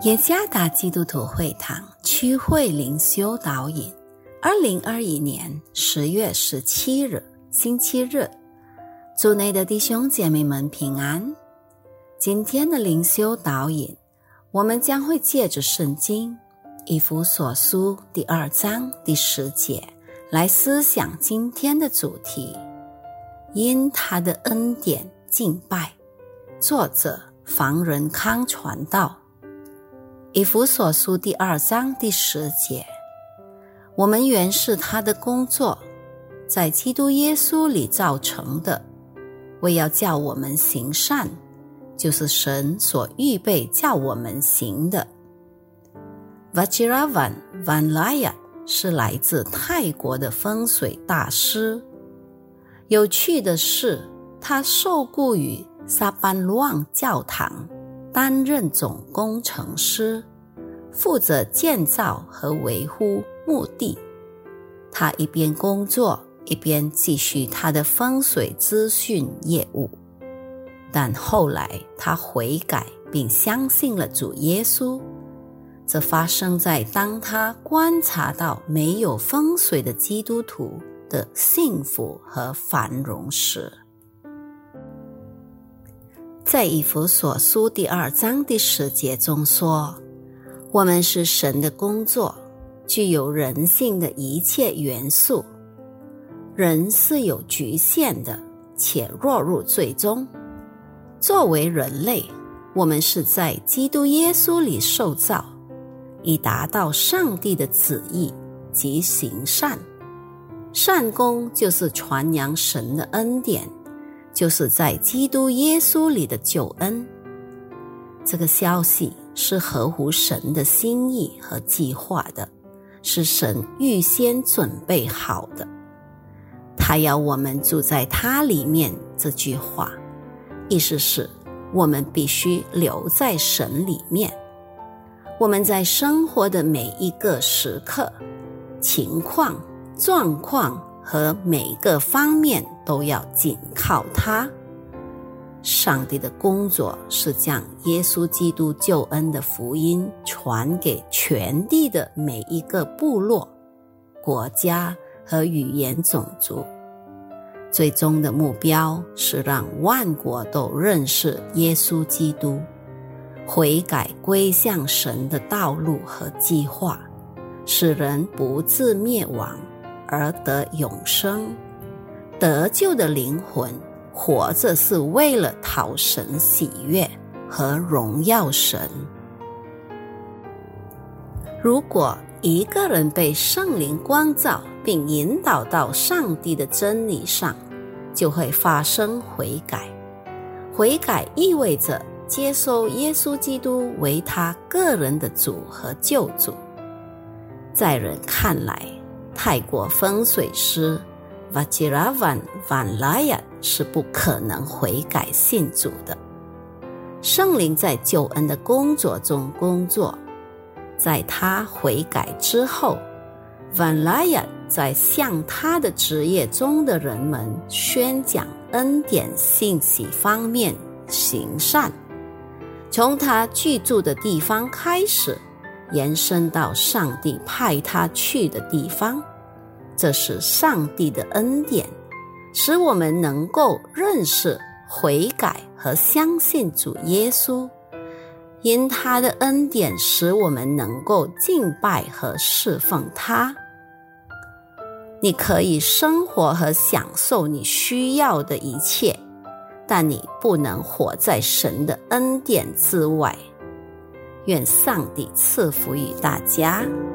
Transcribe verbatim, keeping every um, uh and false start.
耶加达基督徒会堂区会灵修导引，二零二一年十月十七日星期日，主内的弟兄姐妹们平安。今天的灵修导引，我们将会借着圣经以弗所书第二章第十节来思想今天的主题，因他的恩典敬拜。作者房仁康传道。以弗所书第二章第十节，我们原是他的工作，在基督耶稣里造成的，为要叫我们行善，就是神所预备叫我们行的。 Vajiravan Vanlayat 是来自泰国的风水大师。有趣的是，他受雇于萨班鲁旺教堂担任总工程师，负责建造和维护墓地。他一边工作，一边继续他的风水资讯业务。但后来他悔改并相信了主耶稣，这发生在当他观察到没有风水的基督徒的幸福和繁荣时。在以弗所书第二章第十节中说，我们是神的工作，具有人性的一切元素。人是有局限的，且落入罪中。作为人类，我们是在基督耶稣里受造，以达到上帝的旨意及行善。善功就是传扬神的恩典，就是在基督耶稣里的救恩。这个消息是合乎神的心意和计划的，是神预先准备好的。他要我们住在他里面，这句话意思是我们必须留在神里面。我们在生活的每一个时刻、情况、状况和每个方面都要紧靠他。上帝的工作是将耶稣基督救恩的福音传给全地的每一个部落、国家和语言种族。最终的目标是让万国都认识耶稣基督，悔改归向神的道路和计划，使人不致灭亡而得永生。得救的灵魂活着是为了讨神喜悦和荣耀神。如果一个人被圣灵光照并引导到上帝的真理上，就会发生悔改。悔改意味着接受耶稣基督为他个人的主和救主。在人看来，泰国风水师 Vajiravan Vanlayat 是不可能悔改信主的。圣灵在救恩的工作中工作，在他悔改之后， Vanlayat 在向他的职业中的人们宣讲恩典信息方面行善，从他居住的地方开始，延伸到上帝派他去的地方。这是上帝的恩典，使我们能够认识、悔改和相信主耶稣。因他的恩典使我们能够敬拜和侍奉他。你可以生活和享受你需要的一切，但你不能活在神的恩典之外。愿上帝赐福于大家。